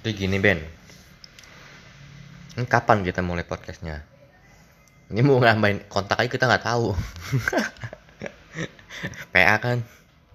Jadi gini Ben, ini kapan kita mulai podcastnya? Ini mau ngambain kontak aja kita nggak tahu. PA kan.